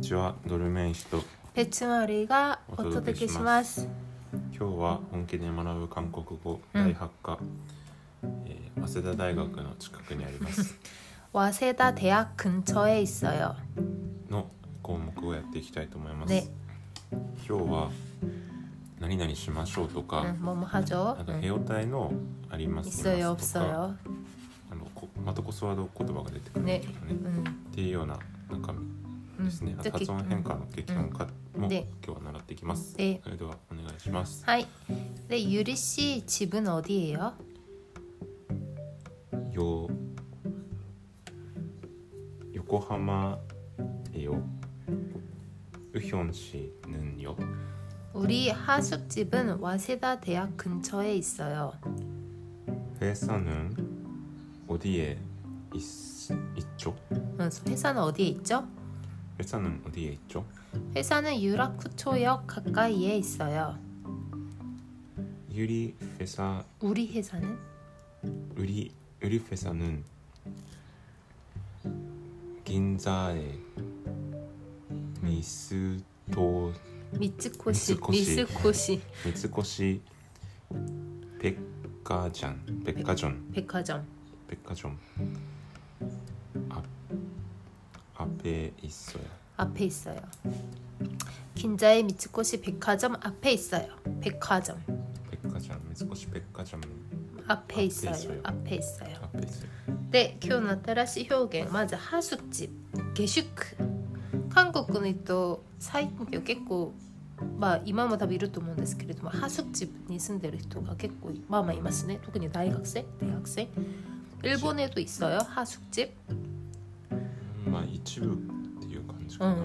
ちは、ドルメイン氏とペチマリがお届けします。 今日は本気で学ぶ韓国語第8課、早稲田大学の近くにあります 와세다 대학 근처에 있어요. の項目をやっていきたいと思います。 네. 今日は何々しましょうとか、 뭐뭐 하죠? あとヘオタイのあります 있어요, とか 없어요. またコスワード言葉が出てくるんだけどね、っていうような中身ですね。あと発音変化の激音化も今日は習っていきます。それではお願いします。 はい。で、ゆり씨 집은 어디예요? 요코하마예요. 우현 씨는요? 우리 하숙집은 와세다 대학 근처에 있어요. 회사는 어디에 있죠? 회사는 어디에 있죠? 회사는 어디에 있죠? 회사는 유라쿠초역 가까이에 있어요. 우리 회사는 긴자에 미츠코시 백화점 앞에 있어요. 긴자의 미츠코시 백화점 앞에 있어요. 백화점 미츠코시 백화점 앞에 있어요. 네, 今日の新しい表現、まずハスチ、下宿。韓国の人、最近結構、今も多分いると思うんですけれども、ハスチに住んでる人が結構いますね。特に大学生。일본에도 있어요, 하숙집? 一部っていう感じかな。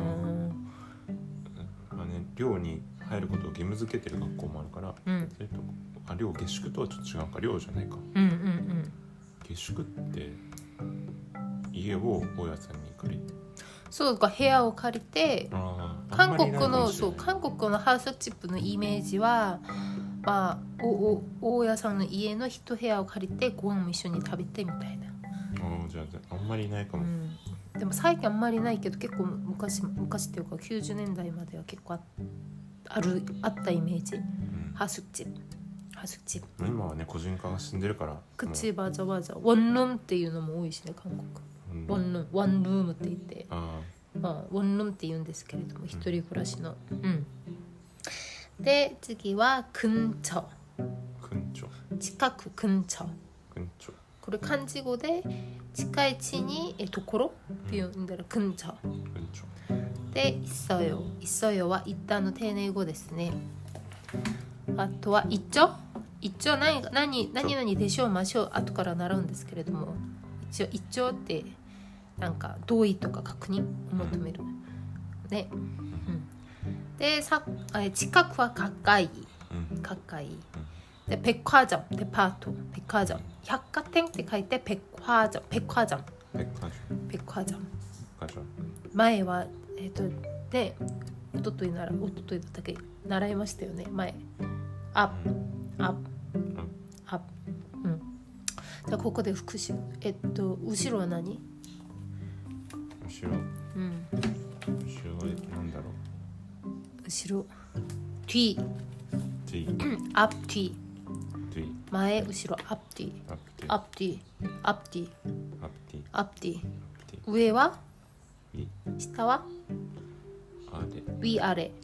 寮に入ることを義務付けてる学校もあるから、それと寮下宿とはちょっと違うか、寮じゃないか。下宿って家を大家さんに借りて、 そうか、部屋を借りて、韓国のハウスチップのイメージは、大家さんの家の一部屋を借りてご飯も一緒に食べてみたいな。 じゃああんまりないかも。 でも最近あんまりないけど、結構昔っていうか90年代までは結構あったイメージ。ハウスチップ。 今はね、個人化が進んでるから。 그치、맞아。원룸っていうのも多いしね、韓国。원룸って言って、원룸って言うんですけれども、一人暮らしの。で、次は근처。近く、근처。これ漢字語で近い地にところっていうんだら근처。で、있어요は一旦の丁寧語ですね。あとは있죠？何々でしょうましょう後から習うんですけれども、一応있죠ってなんか同意とか確認を求めるね。で、近くは가까이。で、백화점デパート、백화점百貨店って書いて백화점。前はで一昨日だったっけ習いましたよね。前アップ。じゃあここで復習。後ろは何？ 後ろは何だろう。 後ろ。뒤。앞뒤。前後ろ앞뒤。上は？下は？위 아래。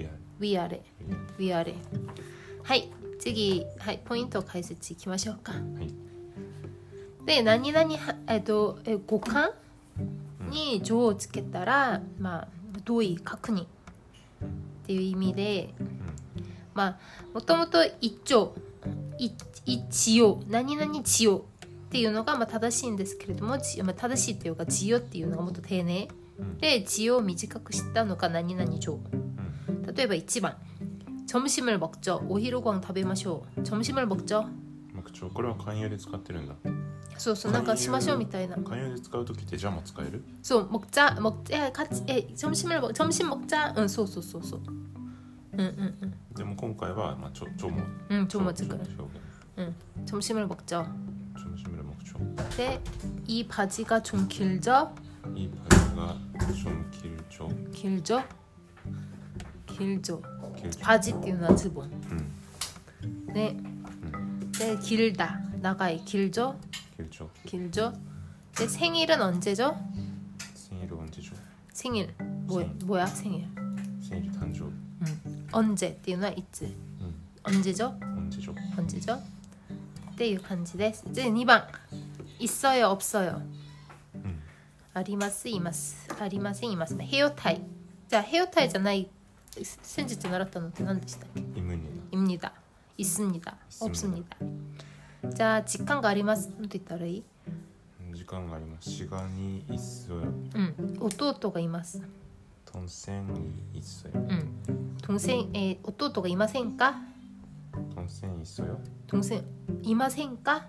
はい、次、ポイント解説いきましょうか。で、何々語感に上をつけたら、同意確認っていう意味で、もともと一応何々千代っていうのが正しいんですけれども、正しいっていうか千代っていうのがもっと丁寧で、千代を短くしたのが何々上。例えば1番、점심을 먹죠。お昼ご飯食べましょう。점심을 먹죠。 これは慣用で使ってるんだ。 そう、なんかしましょうみたいな。 慣用で使うときってじゃも使える？ そう、점심 먹자。そう。 でも今回はちょも使う。 점심을 먹죠。で、이 바지가 좀 길죠? 이 바지가 좀 길죠. 길죠. 바지 っていうのはズボン。 네. 네, 길다. 나가이 길죠. 길죠. 네, 생일은 언제죠? 생일은 언제죠? 생일. 뭐야 생일? 생일誕生. 언제 っていうのは いつ. 언제죠? 언제죠? っていう感じです。で、2番 있어요 없어요. ありますいます。ありませんいますね。ヘオタイ。じゃあヘオタイじゃない先日習ったのって何でしたっけ? 입니다. 있습니다. 없습니다. 자, 직관가 あります。なんて言ったらいい? 시간가 あります. 시간이 있어요. 弟がいます. 동생이 있어요. 동생, 弟がいませんか? 동생 있어요? 동생 いませんか?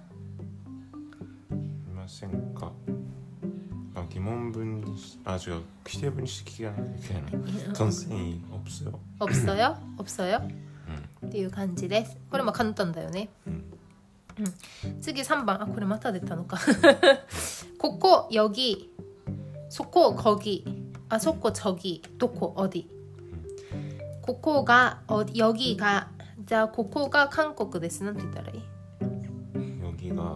이마센가? 아, 기본분 아주 기대분식이야. 동생이 없어요. 없어요? っていう感じです。これも簡単だよね。次3番。あ、これまた出たのか。ここ、여기、そこ、거기、あそこ、저기、どこ、어디。ここが、여기가、じゃあここが韓国です。なんて言ったらいい? 여기가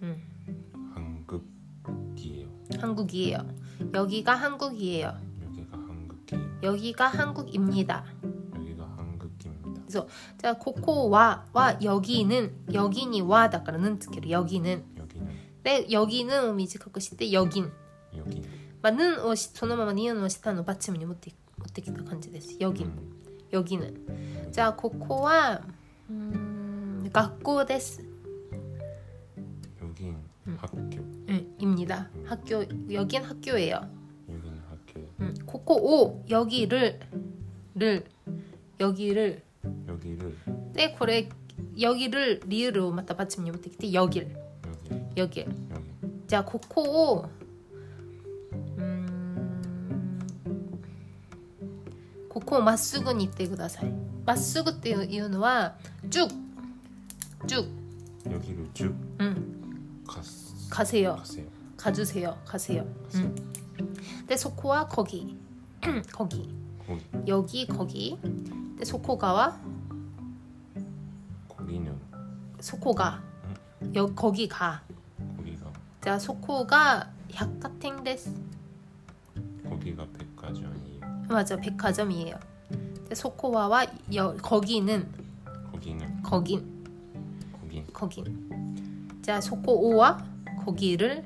한국이에요. 여기가 한국이에요. 여기가 한국입니다. 그래서 자, ここは 여기는 여기니 와 だから 는 つける 여기는. 네, 여기는 を短くして 여긴. まあ 는 をそのままニュンを下の받침に持ってきた感じです. 여기는. 자, ここは学校です. 여긴 학교. 입니다. 학교. 여긴 학교예요.ここを 여기를. 네, これ 여기를 리을로 맞다 받침이 못했기 때문에 여길. 자, ここをここをまっすぐに言ってください。まっすぐっていうのは쭉 여기를 쭉 가세요. 네, そこは 거기. 여기 거기. 네, そこがは 거기는 そこが 거기가. 자, そこが 百貨店です. 거기가 백화점이에요. 맞아, 백화점이에요. 네, そこは 거기는. 자, そこは 거기를.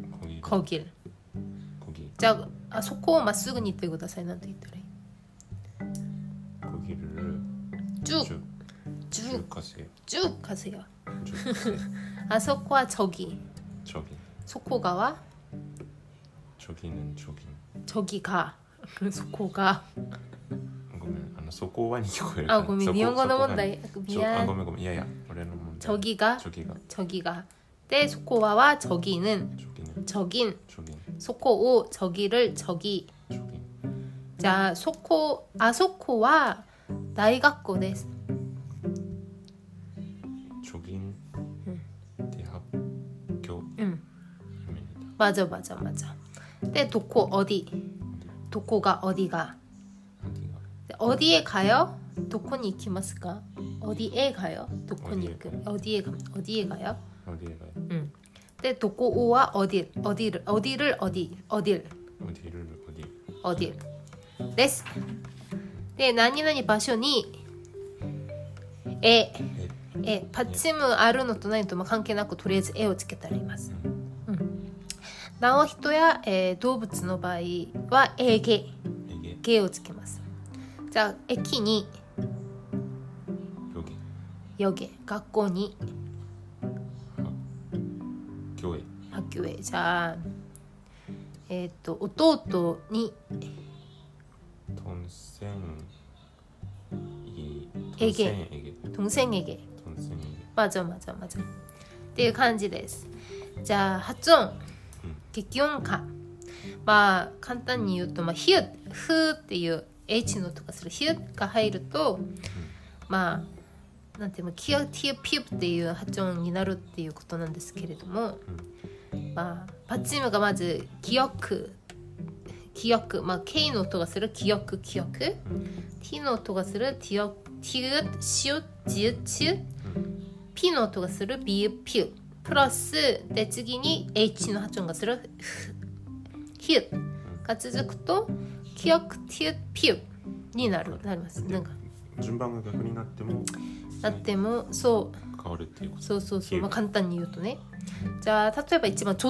자, そこをまっすぐに言ってください。なんて言ったらいい? 거기를 쭉 가세요. 아, そこは 저기. そこがは 저기는 저기가. そこがそこはに聞こえる。 あ、ごめん、日本語の問題。 ごめん。いや、俺の問題。저기가. 네, そこは 저기는. 저긴. そこを 저기를 저기. 자, そこは 大学校です. 저긴 대학교. 맞아. 네, どこ 어디. どこが 어디가. 어디에 가요? どこに行きますか? 어디에 가요? どこに行く? 어디에 가요? 네, どこは 어딜.です. 네, 何々場所に받침은 あるのとないのと関係なくとりあえずをつけたらいます。なお人や、動物の場合はゲをつけます。じゃあ駅にヨゲ、学校に학교에. 자, 弟に동생에게. 맞아. っていう感じです。じゃあ発音、激音化。まあ簡単に言うと、ヒュッ、フーっていう H のとかするヒュッが入ると、まあなんていうの、キュティピュっていう発音になるっていうことなんですけれども、まあパッチムがまず記憶記憶、まあ K の音がする記憶、記憶、T の音がするティオ、ティウ、シュ、ジュ、チュ、P の音がするビュ、ピュ、プラスで次に H の発音がするヒュが続くと記憶、ティウ、ピュになります。なんか順番が逆になってもそう変わるっていうこと。 そうそうそう、まあ、簡単に言うとね。じゃあ例えば一番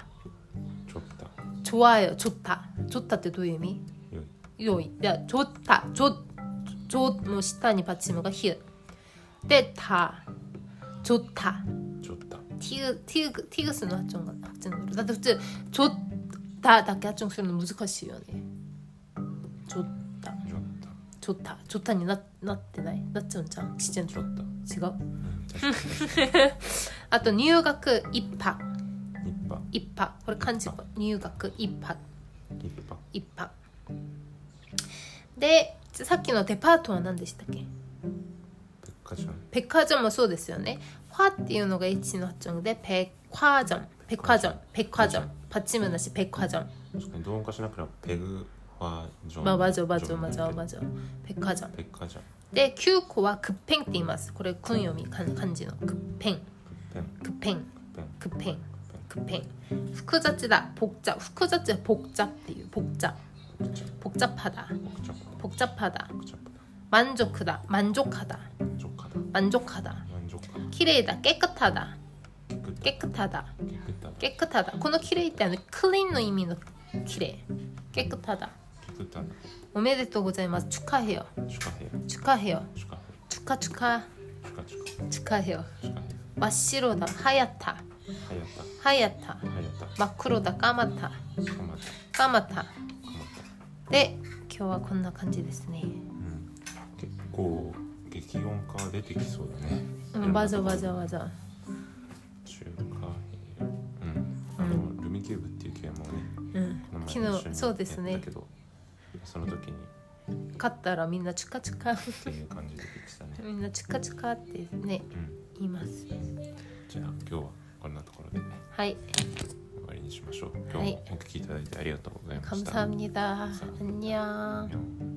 좋다、좋아요、좋다ってどういう意味？良い。じゃあ좋다、もう下にパチムがヒュで좋다、ティグスの発音だって普通좋다だけ発音するの難しいよね。좋다になってない？なっちゃうんじゃん。ちっちゃいの違う。あと入学一泊、これ漢字入学一泊で、さっきのデパートは何でしたっけ？백화점もそうですよね。화っていうのが H の発音で백화점パチムなし백화점。 確かに同音化しなければペグは 맞아 백화점で9個は급행って言います。これ訓読み漢字の급행複雑だ複雑は복잡っていう복잡하다 만족하다綺麗だ깨끗하다この綺麗ってクリーンの意味の綺麗깨끗하다おめでとうございます。축하해요。축하해요。真っ白だ。はやった。真っ黒だ。かまた。で、今日はこんな感じですね。 結構激音化出てきそうだね。 わざ。 中華ルミキューブっていうゲームをね、 昨日そうですね。 その時に勝ったらみんなチュカチュカっていう感じでしたね。 みんなチュカチュカってね、言います。 じゃあ今日はこんなところではい終わりにしましょう。今日もお聞きいただいてありがとうございました。 감사합니다。안녕。